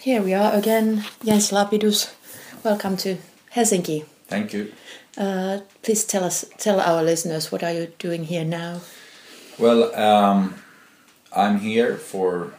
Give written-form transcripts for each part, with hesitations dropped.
Here we are again, Jens Lapidus. Welcome to Helsinki. Thank you. Please tell our listeners, what are you doing here now? Well, I'm here for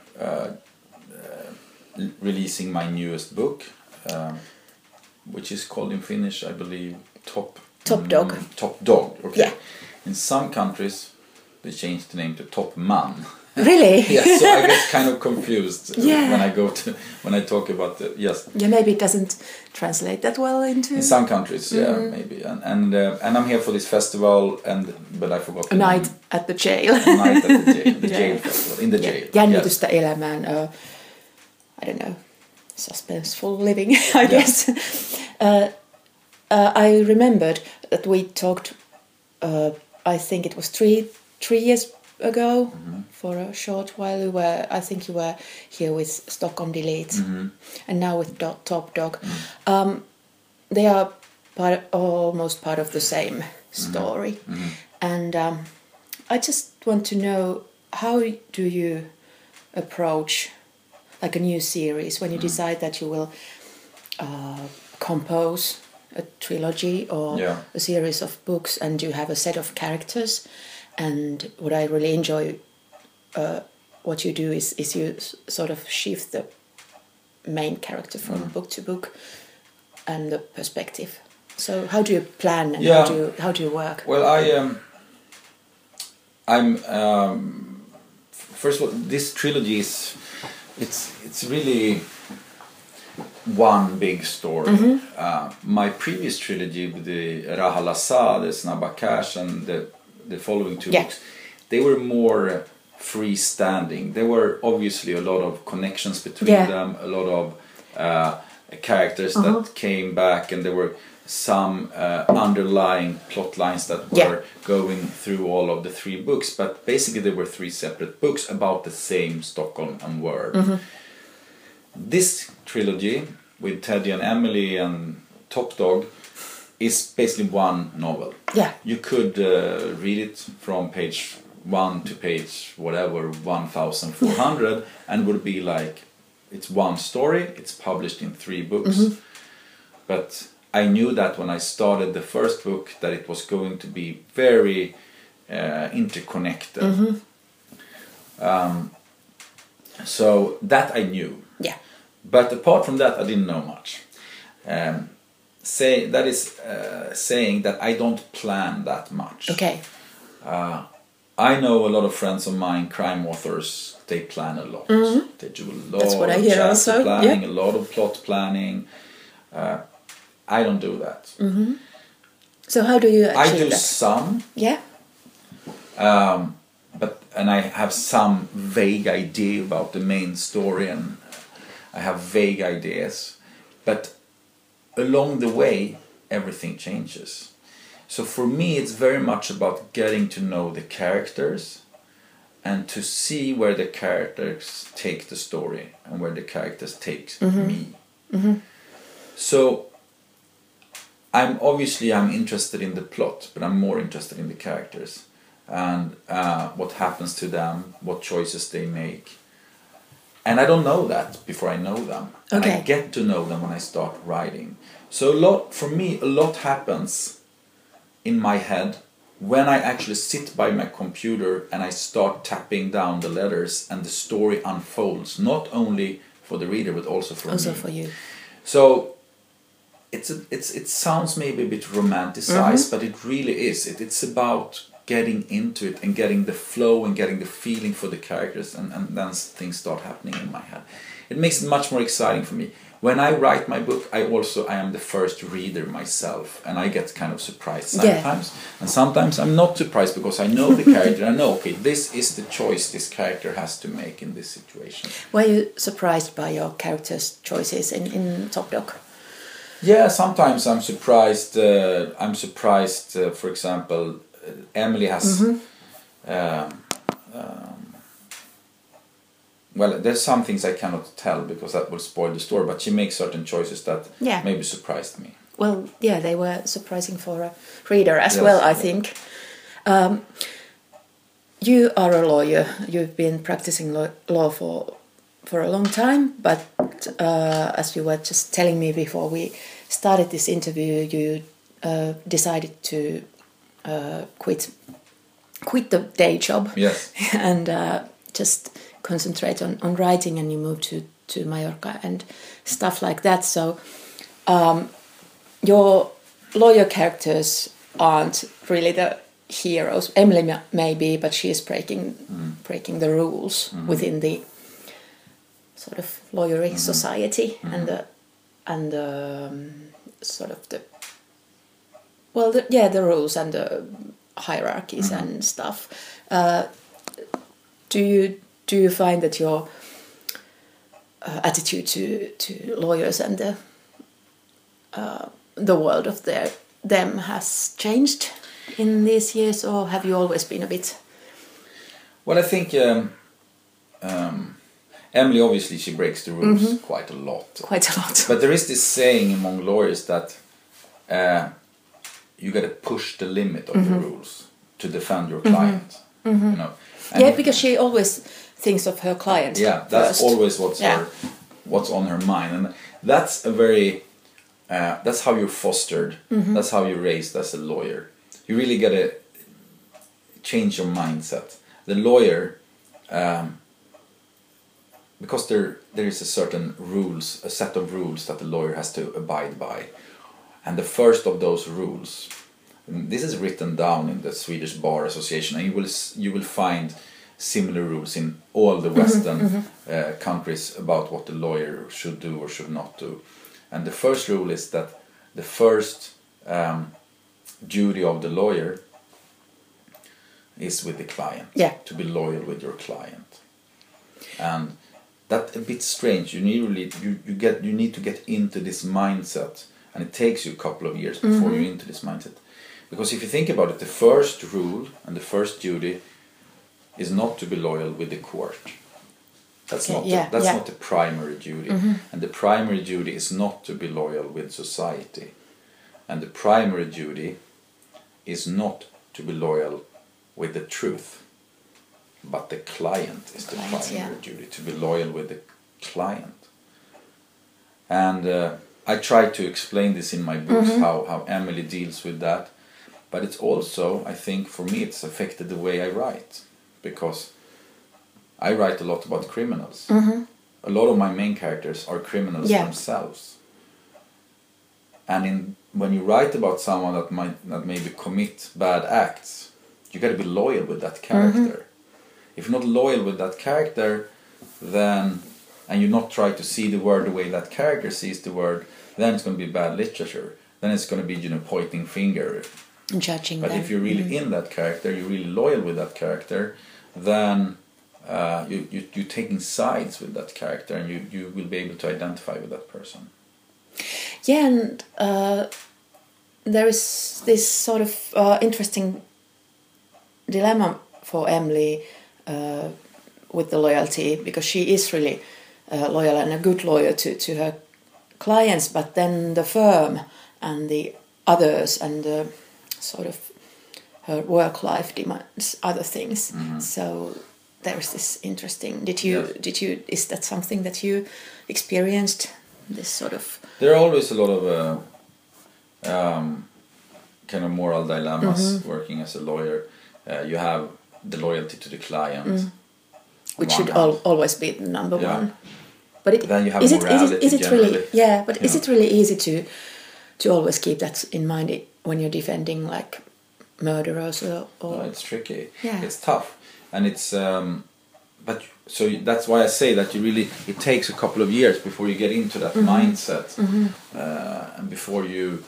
releasing my newest book, which is called in Finnish, I believe, Top Dog. Top Dog. Okay. Yeah. In some countries, they changed the name to Top Man. Really? Yeah. So I get kind of confused Yeah. when I talk about the yes. Yeah, maybe it doesn't translate that well into. In some countries, yeah, maybe, and I'm here for this festival, but I forgot. A night at the jail. A night at the jail, jail festival, in the jail. Jännitystä elämään. I don't know, suspenseful living, I guess. I remembered that we talked. I think it was three years ago. For a short while. I think you were here with Stockholm Delete, and now with Top Dog. They are almost part of the same story, and I just want to know, how do you approach like a new series when you decide that you will compose a trilogy or a series of books, and you have a set of characters. And what I really enjoy, what you do is you sort of shift the main character from book to book and the perspective. So how do you plan, and how do you work? Well, I'm first of all, this trilogy is it's really one big story. My previous trilogy with the Rahalasa, the Snabba Cash, and the following two books, they were more freestanding. There were obviously a lot of connections between them, a lot of characters that came back, and there were some underlying plot lines that were going through all of the three books, but basically there were three separate books about the same Stockholm and world. This trilogy with Teddy and Emily and Top Dog is basically one novel. Yeah. You could read it from page 1 to page whatever 1400 and would be like, it's one story, it's published in 3 books. But I knew that when I started the first book that it was going to be very interconnected. So that I knew. Yeah. But apart from that, I didn't know much. Saying that I don't plan that much. Okay. I know a lot of friends of mine, crime authors, they plan a lot. They do a lot of chapter planning, a lot of plot planning. I don't do that. So how do you achieve that? I do some. Yeah. And I have some vague idea about the main story, and I have vague ideas. But along the way, everything changes. So for me, it's very much about getting to know the characters and to see where the characters take the story and where the characters take me. So I'm interested in the plot, but I'm more interested in the characters and what happens to them, what choices they make. And I don't know that before I know them. Okay. And I get to know them when I start writing. So a lot happens in my head when I actually sit by my computer and I start tapping down the letters and the story unfolds, not only for the reader but also for me. Also for you. So it sounds maybe a bit romanticized, but it really is. It's about getting into it and getting the flow and getting the feeling for the characters, and then things start happening in my head. It makes it much more exciting for me. When I write my book, I am the first reader myself, and I get kind of surprised sometimes. And sometimes I'm not surprised because I know the character. I know, okay, this is the choice this character has to make in this situation. Were you surprised by your character's choices in Top Dog? Yeah, sometimes I'm surprised. For example, Emily has... well, there's some things I cannot tell because that will spoil the story, but she makes certain choices that maybe surprised me. Well, yeah, they were surprising for a reader as well, I think. You are a lawyer. You've been practicing law for for a long time, but as you were just telling me before we started this interview, you decided to quit the day job. Yes. And just concentrate on writing, and you moved to Mallorca and stuff like that. So your lawyer characters aren't really the heroes. Emily maybe, but she is breaking the rules within the sort of lawyery society and the sort of the rules and the hierarchies and stuff. Do you find that your attitude to lawyers and the world of them has changed in these years, or have you always been a bit? Well, I think Emily, obviously, she breaks the rules quite a lot. Quite a lot. But there is this saying among lawyers that you got to push the limit of the rules to defend your client. You know. And because she always thinks of her client. Yeah, that's first. always what's on her mind, and that's a very that's how you're fostered. That's how you're raised as a lawyer. You really got to change your mindset. The lawyer, because there is a certain rules, a set of rules that the lawyer has to abide by, and the first of those rules, and this is written down in the Swedish Bar Association, and you will find similar rules in all the Western countries about what the lawyer should do or should not do. And the first rule is that the first duty of the lawyer is with the client. Yeah. To be loyal with your client. And that's a bit strange. You need to get into this mindset, and it takes you a couple of years before you're into this mindset. Because if you think about it, the first rule and the first duty is not to be loyal with the court. That's not the primary duty. And the primary duty is not to be loyal with society. And the primary duty is not to be loyal with the truth. But the client is the primary duty, to be loyal with the client. And I try to explain this in my books, how Emily deals with that. But it's also, I think, for me, it's affected the way I write. Because I write a lot about criminals. A lot of my main characters are criminals themselves. And when you write about someone that maybe commit bad acts, you got to be loyal with that character. If you're not loyal with that character, then, and you not try to see the word the way that character sees the word, then it's going to be bad literature. Then it's going to be, pointing finger. And judging But them. if you're really in that character, you're really loyal with that character, then you're taking sides with that character, and you will be able to identify with that person. Yeah, and there is this sort of interesting dilemma for Emily with the loyalty, because she is really loyal and a good lawyer to her clients, but then the firm and the others and the sort of her work life demands other things. So there is this interesting. Is that something that you experienced? This sort of. There are always a lot of kind of moral dilemmas working as a lawyer. You have the loyalty to the client, which should always be the number one. But then you have morality. Is it really? Yeah, but is know. it really easy to always keep that in mind when you're defending like murderers or? No, it's tricky. Yeah. It's tough, and it's but so that's why I say that it takes a couple of years before you get into that mindset, and before you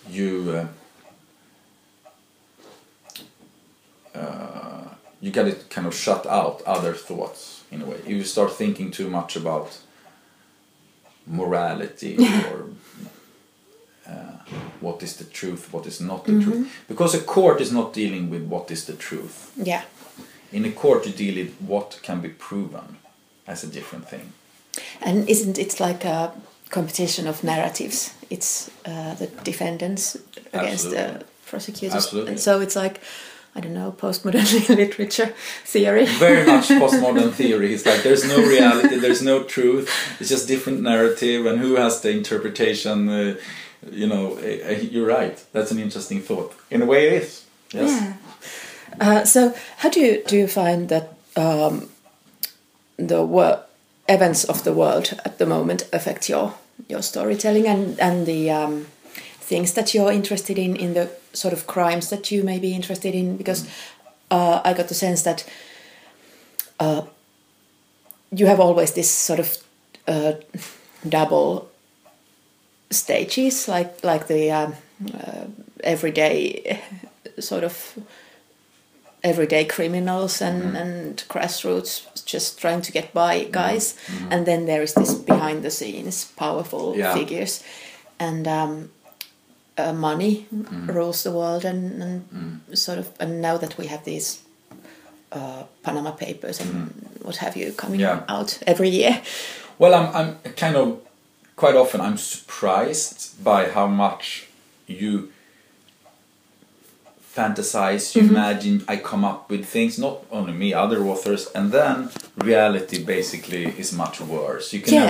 got to kind of shut out other thoughts in a way. You start thinking too much about morality or what is the truth, what is not the truth. Because a court is not dealing with what is the truth. Yeah. In a court you deal with what can be proven as a different thing. And isn't it like a competition of narratives? It's the defendants against the prosecutors. Absolutely. And so it's like I don't know, postmodern literature theory. Very much postmodern theory. It's like there's no reality, there's no truth. It's just different narrative, and who has the interpretation? You're right. That's an interesting thought. In a way, it is. Yes. Yeah. So, how do you find that the events of the world at the moment affect your storytelling and the things that you're interested in the sort of crimes that you may be interested in? Because I got the sense that you have always this sort of double stages, like the everyday sort of everyday criminals and grassroots just trying to get by guys, and then there is this behind the scenes powerful figures, and money rules the world, and sort of, and now that we have these Panama Papers and what have you coming out every year. Well, I'm kind of quite often I'm surprised by how much you fantasize, you imagine. I come up with things, not only me, other authors, and then reality basically is much worse.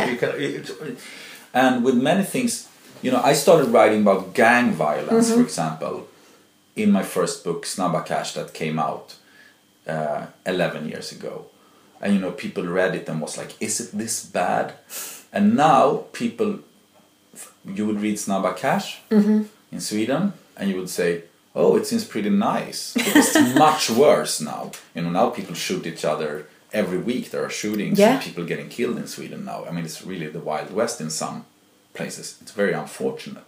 And with many things, I started writing about gang violence, for example, in my first book, Snabba Cash, that came out 11 years ago. And people read it and was like, is it this bad? And now you would read Snabba Cash in Sweden, and you would say, oh, it seems pretty nice. Because it's much worse now. Now people shoot each other every week. There are shootings and people getting killed in Sweden now. I mean, it's really the Wild West in some places. It's very unfortunate.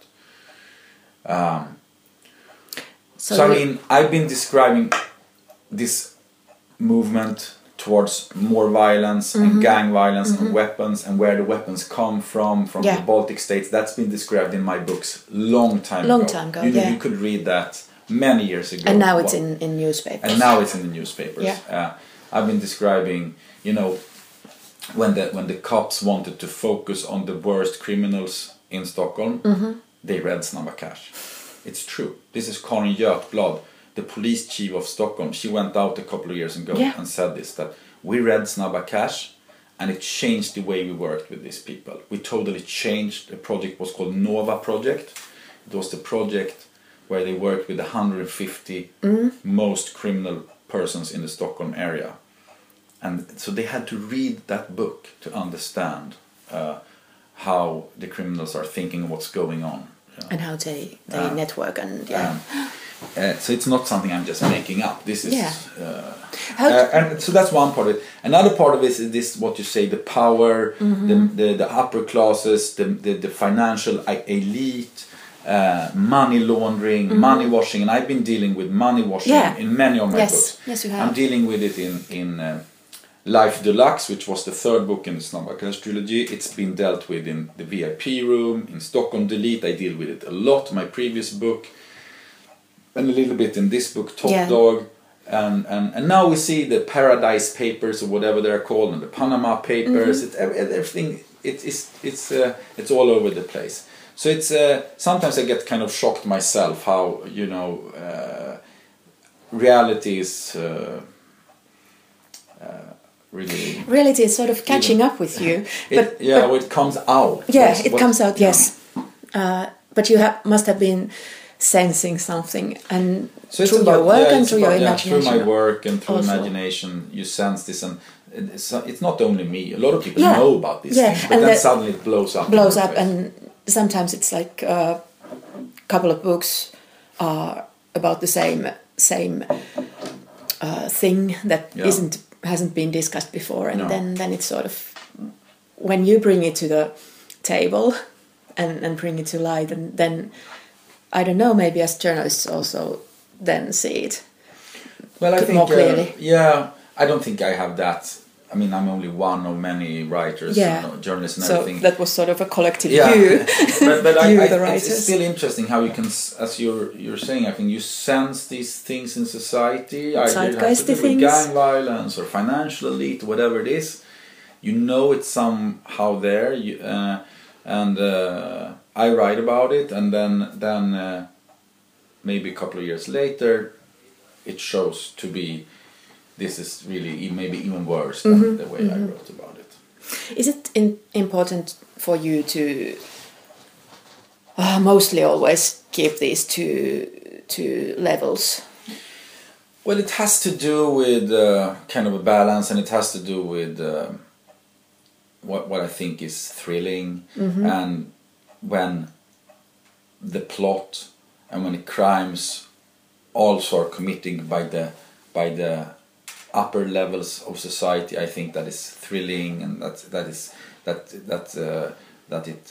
So I mean, I've been describing this movement towards more violence and gang violence and weapons, and where the weapons come from the Baltic states. That's been described in my books long time ago. You could read that many years ago. And now it's in newspapers. And now it's in the newspapers. Yeah. I've been describing, when the cops wanted to focus on the worst criminals in Stockholm, they read Snabba Cash. It's true. This is Karin Götblad, the police chief of Stockholm. She went out a couple of years ago and said this, that we read Snabba Cash and it changed the way we worked with these people. We totally changed. The project was called Nova Project. It was the project where they worked with 150 most criminal persons in the Stockholm area. And so they had to read that book to understand how the criminals are thinking, what's going on. And how they network and so it's not something I'm just making up. This is and so that's one part of it. Another part of it is this, what you say, the power, the upper classes, the financial elite, money laundering, money washing, and I've been dealing with money washing in many of my books. Yes, you have. I'm dealing with it in Life Deluxe, which was the third book in the Snabba Cash trilogy. It's been dealt with in the VIP room, in Stockholm Delete. I deal with it a lot, my previous book, and a little bit in this book, Top Dog. And now we see the Paradise Papers, or whatever they're called, and the Panama Papers. It's everything. It's all over the place. So it's sometimes I get kind of shocked myself how reality is really. Reality is sort of catching up with you. It comes out. Yeah, it comes out. Yes, but you must have been sensing something, and so through your work and through your imagination. Through my work and through imagination, you sense this, and it's not only me. A lot of people know about these things, but then suddenly it blows up. And sometimes it's like a couple of books are about the same thing that hasn't been discussed before, and then it's sort of, when you bring it to the table and bring it to light, and then I don't know, maybe as journalists also then see it more clearly. I don't think I have that. I mean, I'm only one of many writers, and journalists, and everything. So that was sort of a collective view. but it's still interesting how you can, as you're saying, I think you sense these things in society. Either have to do with gang violence or financial elite, whatever it is. You know it's somehow there, and I write about it, and then maybe a couple of years later, it shows to be. This is really maybe even worse than the way I wrote about it. Is it important for you to mostly always keep these two levels? Well, it has to do with kind of a balance, and it has to do with what I think is thrilling, and when the plot and when the crimes also are committed by the upper levels of society, I think that is thrilling, and that it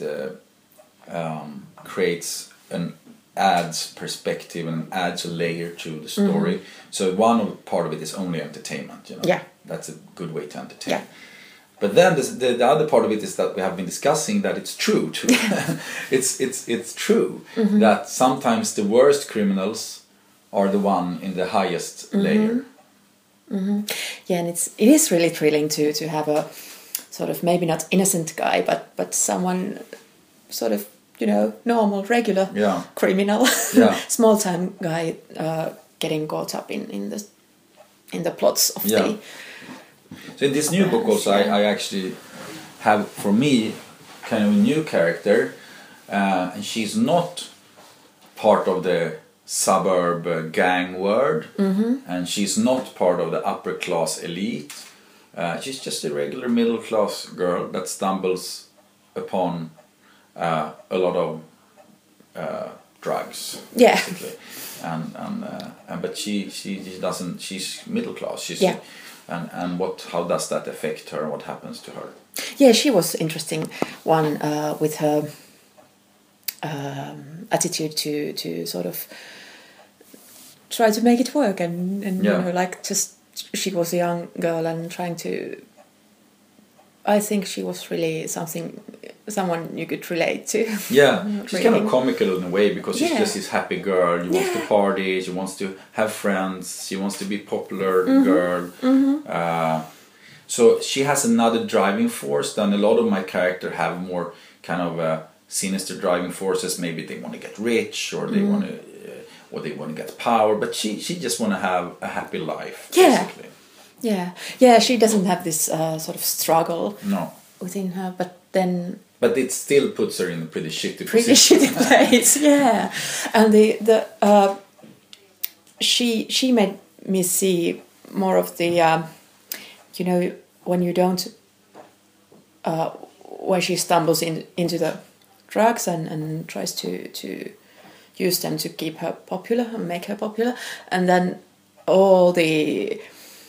creates an adds perspective and adds a layer to the story. So part of it is only entertainment, you know. Yeah. That's a good way to entertain. Yeah. But then the other part of it is that we have been discussing that it's true too. it's true that sometimes the worst criminals are the one in the highest layer. Yeah, and it is really thrilling to have a sort of maybe not innocent guy, but someone sort of, you know, normal, regular criminal, small time guy getting caught up in the plots of the. So in this new book also, I actually have, for me, kind of a new character, and she's not part of the suburb gang world, and she's not part of the upper class elite. She's just a regular middle class girl that stumbles upon a lot of drugs, basically, and but she doesn't. She's middle class. She's and how does that affect her? What happens to her? Yeah, she was interesting one with her attitude to sort of try to make it work and you know, like, just she was a young girl and trying to. I think she was really someone you could relate to. Yeah, she's kind of comical in a way, because she's just this happy girl. She wants to party, she wants to have friends, she wants to be popular girl. So she has another driving force than a lot of my characters have, more kind of sinister driving forces. Maybe they want to get rich, or they want to get power, but she just want to have a happy life, basically. Yeah, she doesn't have this sort of struggle within her, but it still puts her in a pretty shitty shitty place. Yeah, and she made me see more of the you know, when you don't when she stumbles into the drugs and tries to use them to keep her popular and make her popular, and then all the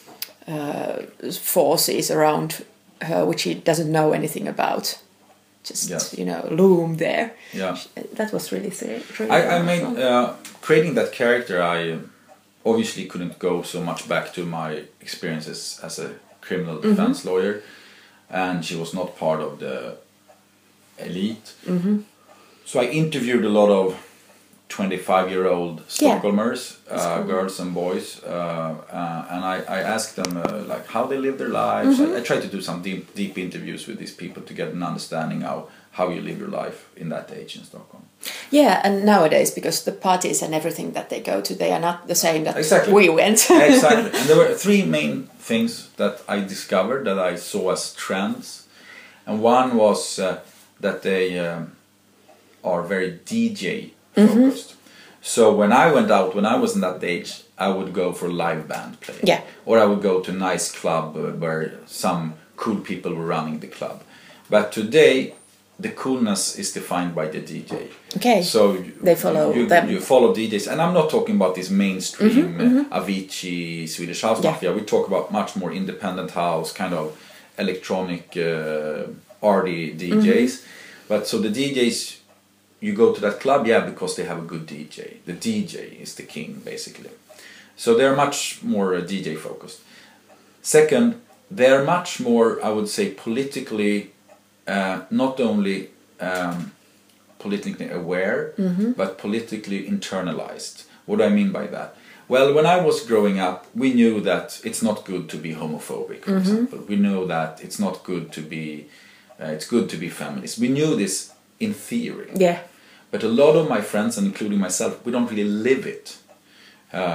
forces around her which she doesn't know anything about just you know, loom there. That was really I made creating that character. I obviously couldn't go so much back to my experiences as a criminal defense lawyer, and she was not part of the elite. So I interviewed a lot of 25-year-old Stockholmers, girls and boys, and I asked them like how they live their lives. I tried to do some deep interviews with these people to get an understanding of how you live your life in that age in Stockholm. Yeah, and nowadays, because the parties and everything that they go to, they are not the same that we went. Exactly, and there were three main things that I discovered that I saw as trends, and one was that they are very DJ focused. So when I went out, when I was in that age, I would go for live band playing. Yeah. Or I would go to a nice club where some cool people were running the club. But today, the coolness is defined by the DJ. Okay. So they follow them. You follow DJs, and I'm not talking about this mainstream Avicii, Swedish House Mafia. We talk about much more independent house, kind of electronic, arty DJs. But so the DJs. You go to that club, because they have a good DJ. The DJ is the king, basically. So they're much more DJ focused. Second, they're much more, I would say, politically, not only politically aware, but politically internalized. What do I mean by that? Well, when I was growing up, we knew that it's not good to be homophobic, for example. We know that it's not good to be, it's good to be feminist. We knew this in theory. Yeah. But a lot of my friends, and including myself, we don't really live it.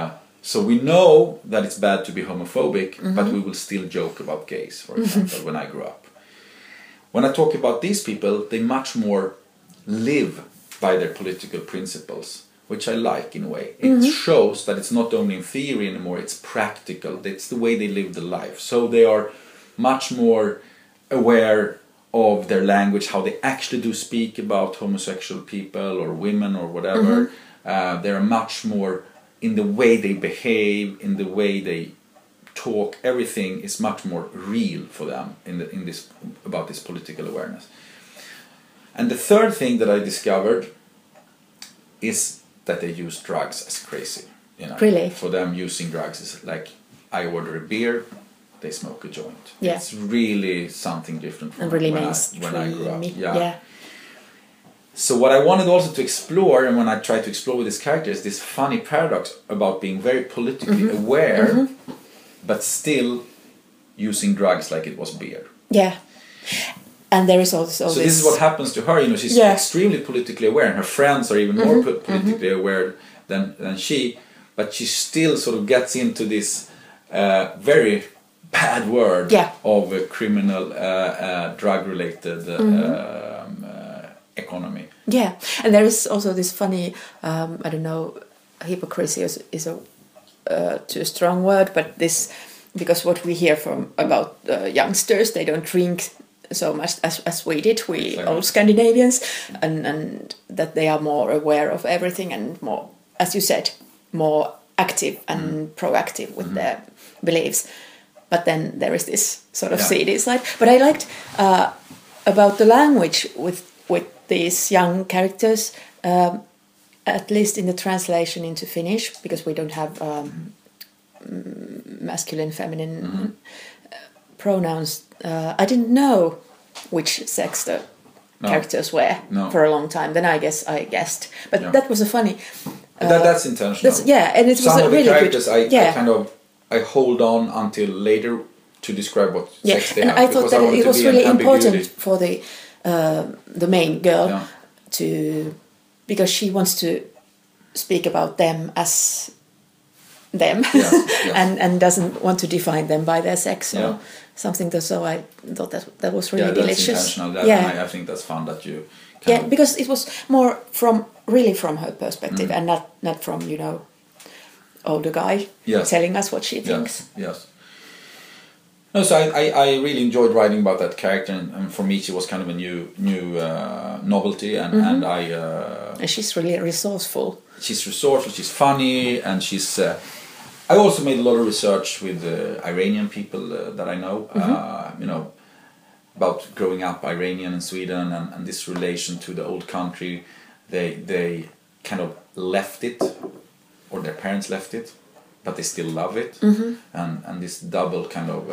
So we know that it's bad to be homophobic, but we will still joke about gays, for example, when I grew up. When I talk about these people, they much more live by their political principles, which I like in a way. It shows that it's not only in theory anymore, it's practical. It's the way they live the life. So they are much more aware of their language, how they actually do speak about homosexual people or women or whatever. They're much more in the way they behave, in the way they talk. Everything is much more real for them in this about this political awareness. And the third thing that I discovered is that they use drugs as crazy. You know, Really? For them, using drugs is like I order a beer, they smoke a joint. Yeah. It's really something different from And really when I grew up. Yeah. So what I wanted also to explore, and when I tried to explore with this character, is this funny paradox about being very politically aware, but still using drugs like it was beer. Yeah. And there is also so this is what happens to her. You know, she's extremely politically aware, and her friends are even more politically aware than she. But she still sort of gets into this very bad word of a criminal, drug-related economy. Yeah, and there is also this funny, I don't know, hypocrisy is a too strong word, but this, because what we hear from about youngsters, they don't drink so much as we did, old Scandinavians, and that they are more aware of everything and more, as you said, more active and proactive with their beliefs. But then there is this sort of seedy side. But I liked about the language with these young characters, at least in the translation into Finnish, because we don't have masculine, feminine pronouns. I didn't know which sex the characters were for a long time. Then I guessed. But that was a funny... that's intentional. And it was some a of the really characters good... I hold on until later to describe what sex they have. I thought that it was really important for the main girl to, because she wants to speak about them as them and doesn't want to define them by their sex or something. So I thought that was really delicious. I think that's fun that you because it was more from her perspective and not from older guy telling us what she thinks. Yes. No, so I really enjoyed writing about that character, and for me she was kind of a new novelty, and and she's really resourceful. She's resourceful, she's funny, and she's. I also made a lot of research with Iranian people that I know, about growing up Iranian in Sweden and this relation to the old country. They kind of left it, or their parents left it, but they still love it, and this double kind of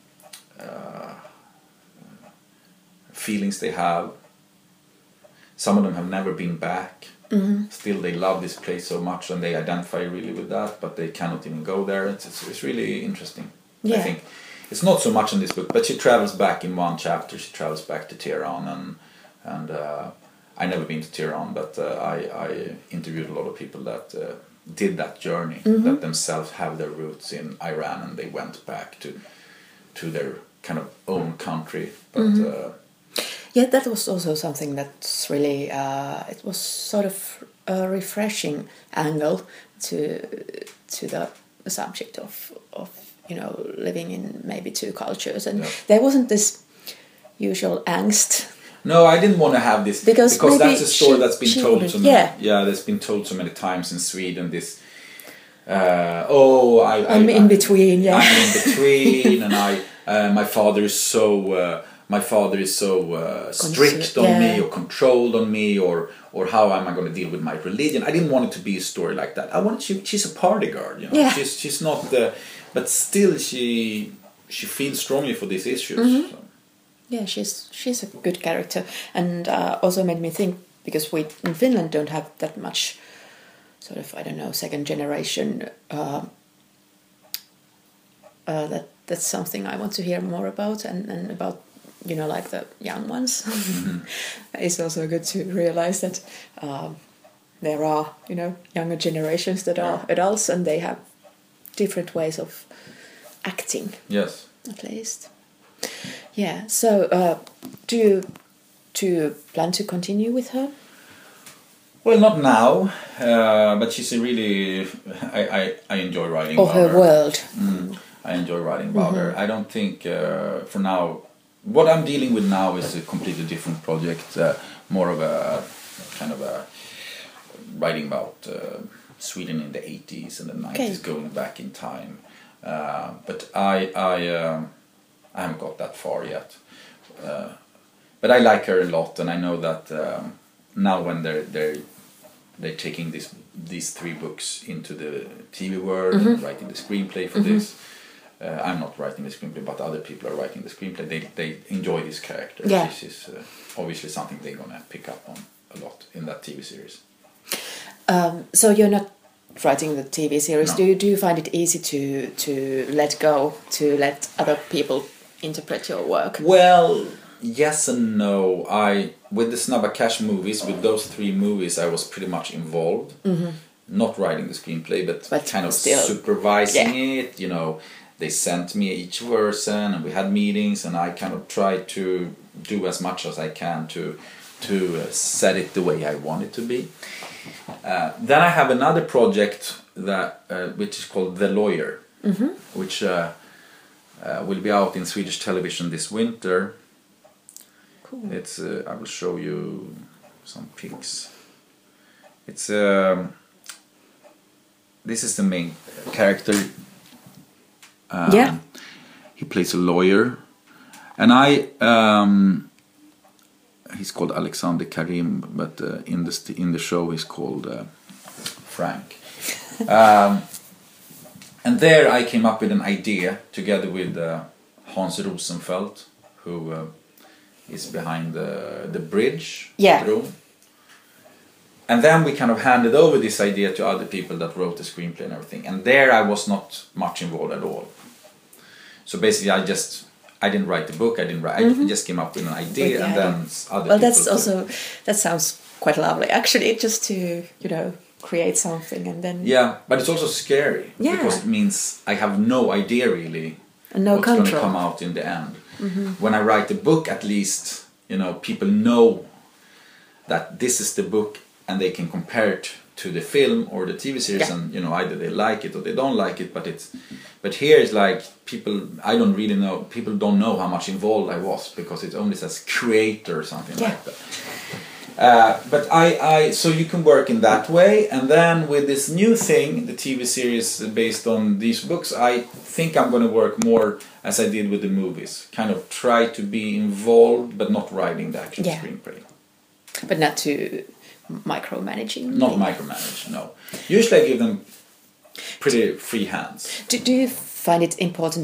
feelings they have. Some of them have never been back. Still they love this place so much and they identify really with that, but they cannot even go there. It's really interesting. I think it's not so much in this book, but she travels back in one chapter. She travels back to Tehran, and I never been to Tehran, but I interviewed a lot of people that did that journey, that themselves have their roots in Iran, and they went back to their kind of own country. But that was also something that's really it was sort of a refreshing angle to the subject of living in maybe two cultures, and there wasn't this usual angst. No, I didn't want to have this because that's a story that's been told so many. That's been told so many times in Sweden. This, I'm in between. I'm in between, and my father is so strict on me, or controlled on me, or how am I going to deal with my religion? I didn't want it to be a story like that. I wanted she's a party girl, She's not the, but still she feels strongly for these issues. So. Yeah, she's a good character, and also made me think, because we in Finland don't have that much sort of, I don't know, second generation. That's something I want to hear more about, and about like the young ones. It's also good to realize that there are younger generations that are adults, and they have different ways of acting. Yes. At least. Yeah. So, do you plan to continue with her? Well, not now, but she's a really. I enjoy writing. Or her world. I enjoy writing about her. I don't think for now. What I'm dealing with now is a completely different project, more of a kind of a writing about Sweden in the 80s and the 90s, going back in time. But I haven't got that far yet. But I like her a lot, and I know that now when they're taking these 3 books into the TV world and writing the screenplay for this. I'm not writing the screenplay, but other people are writing the screenplay. They enjoy this character. Yeah. This is obviously something they're gonna pick up on a lot in that TV series. So you're not writing the TV series. No. Do you find it easy to let go, to let other people interpret your work? Well, yes and no. With the Snabba Cash movies, with those 3 movies, I was pretty much involved. Not writing the screenplay, but kind of still supervising it. You know, they sent me each version, and we had meetings, and I kind of tried to do as much as I can to set it the way I want it to be. Then I have another project that which is called The Lawyer, which will be out in Swedish television this winter. Cool. It's I will show you some pics. It's this is the main character. He plays a lawyer, and he's called Alexander Karim, but in the show he's called Frank. And there I came up with an idea together with Hans Rosenfeldt, who is behind the bridge. Bro. And then we kind of handed over this idea to other people that wrote the screenplay and everything. And there I was not much involved at all. So basically I didn't write the book, I just came up with an idea, and then other people... that sounds quite lovely, actually, just to, create something and then... Yeah, but it's also scary, because it means I have no idea really what's going to come out in the end. When I write the book, at least, people know that this is the book, and they can compare it to the film or the TV series, and either they like it or they don't like it. But here it's like people don't know how much involved I was, because it only says creator or something like that. But so you can work in that way, and then with this new thing, the TV series based on these books, I think I'm going to work more as I did with the movies, kind of try to be involved but not writing the actual screenplay. But not to micromanaging. Not micromanage, no. Usually I give them pretty free hands. Do you find it important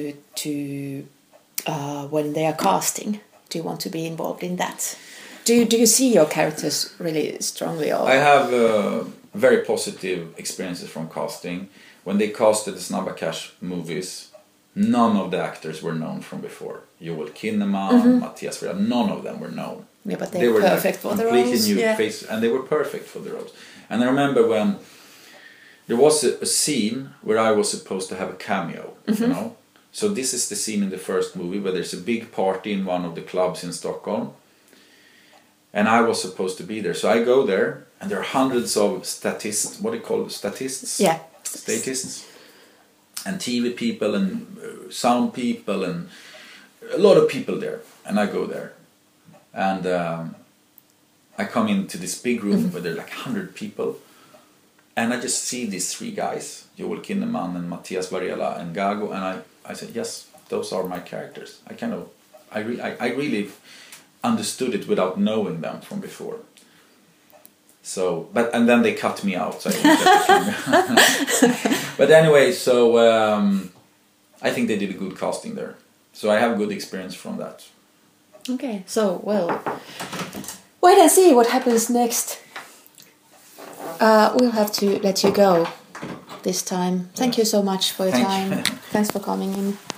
to when they are casting? Do you want to be involved in that? Do you see your characters really strongly? Or? I have very positive experiences from casting. When they casted the Snabba Cash movies, none of the actors were known from before. Joel Kinnaman, Mattias Varela, none of them were known. Yeah, but they were perfect for the roles. Completely new face, and they were perfect for the roles. And I remember when there was a scene where I was supposed to have a cameo, So this is the scene in the first movie where there's a big party in one of the clubs in Stockholm. And I was supposed to be there. So I go there, and there are hundreds of statists, what do you call it, statists? Yeah. Statists. And TV people and sound people and a lot of people there. And I go there. And I come into this big room where there are like 100 people. And I just see these 3 guys, Joel Kinnaman and Mattias Varela and Gago. And I said, yes, those are my characters. I really understood it without knowing them from before. So, and then they cut me out. So I didn't get the camera. But anyway, so I think they did a good casting there. So I have good experience from that. Okay, so wait and see what happens next. We'll have to let you go this time. Thank you so much for your time. Thanks for coming in.